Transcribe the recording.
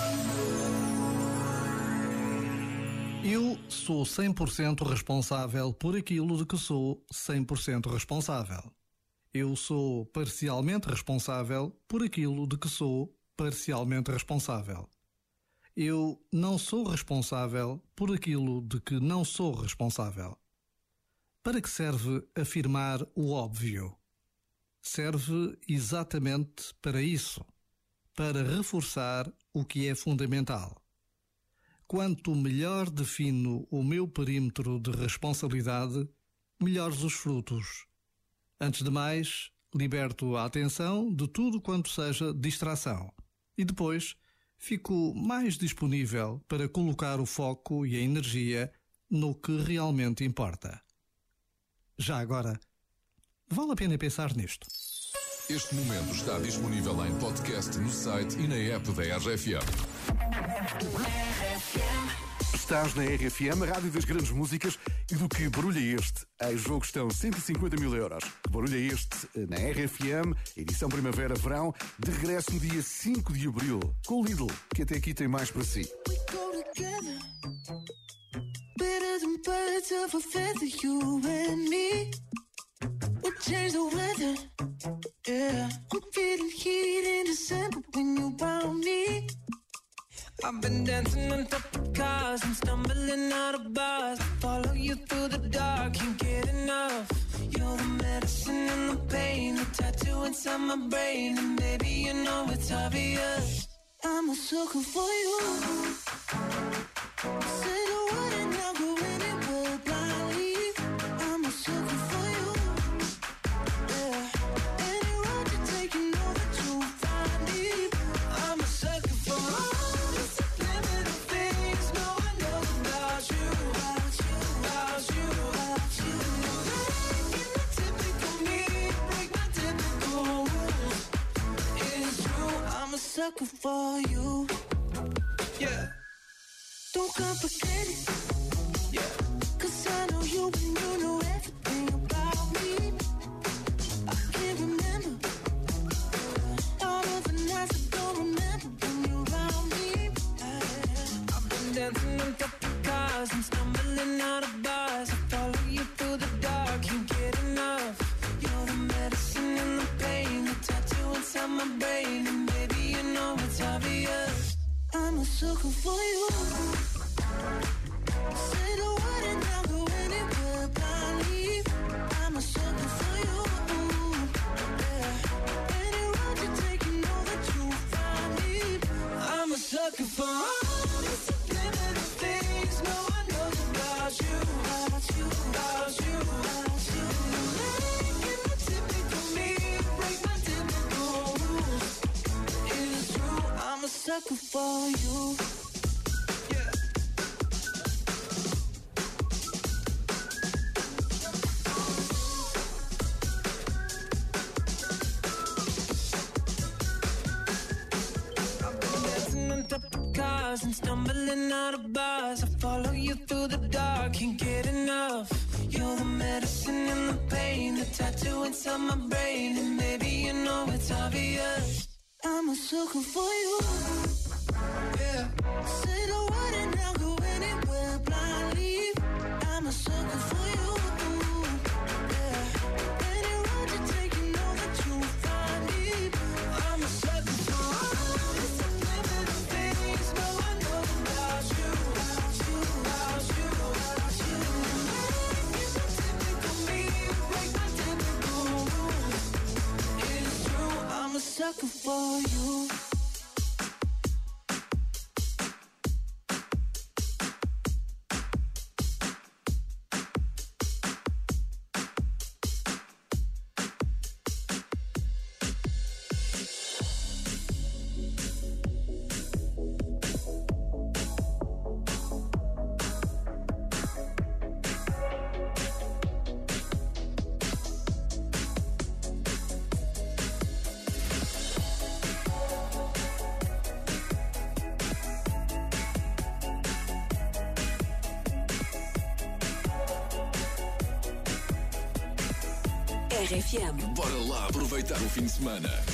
Eu sou 100% responsável por aquilo de que sou 100% responsável. Eu sou parcialmente responsável por aquilo de que sou parcialmente responsável. Eu não sou responsável por aquilo de que não sou responsável. Para que serve afirmar o óbvio? Serve exatamente para isso, para reforçar o que é fundamental. Quanto melhor defino o meu perímetro de responsabilidade, melhores os frutos. Antes de mais, liberto a atenção de tudo quanto seja distração. E depois, fico mais disponível para colocar o foco e a energia no que realmente importa. Já agora, vale a pena pensar nisto. Este momento está disponível em podcast no site e na app da RFM. Estás na RFM, a rádio das grandes músicas, e do que barulho é este? Em jogo estão 150 mil euros. Que barulho é este? Na RFM, edição Primavera-Verão, de regresso no dia 5 de abril, com o Lidl, que até aqui tem mais para si. Better than birds of a feather, you and me. We change the weather, yeah. I'm feeling heat in December when you found me. I've been dancing on top of cars and stumbling out of bars. Follow you through the dark, can't get enough. You're the medicine and the pain, the tattoo inside my brain. And baby, you know it's obvious, I'm a sucker for you. Say the word and I'll go anywhere blindly. I'm a sucker for you, yeah. Any road you take, you know that you'll find me. I'm a sucker for all the subliminal things no one knows about you, about you, about you, about you. Breaking the typical me, break my typical rules. It's true, I'm a sucker for you, yeah. Don't complicate it, yeah. 'Cause I know you and you know everything about me. I can't remember all of the nights I don't remember when you're around me. I've been dancing on top of cars and stumbling out of bars. I follow you through the dark, can't get enough. You're the medicine and the pain, the tattoo inside my brain. And baby, you know it's obvious, I'm a sucker for you. Say the word and I'll go anywhere blindly. I'm a sucker for you, yeah. Any road you take, you know that you'll find me. I'm a sucker for all the subliminal things no one knows about you, about you, about you, about you. Making the typical me, break my typical rules. It's true, I'm a sucker for you. Cars and stumbling out of bars. I follow you through the dark, can't get enough. You're the medicine and the pain, the tattoo inside my brain. And maybe you know it's obvious, I'm a sucker for you, yeah. Say the word and I'll go anywhere blindly. I'm a sucker for you, yeah. Any road you take, you know that you'll find me. I'm a sucker for all the subliminal things no one knows about you, about you, about you, about you. Making the typical me, break my typical rules. It's true, I'm a sucker for you. RFM. Bora lá aproveitar o fim de semana.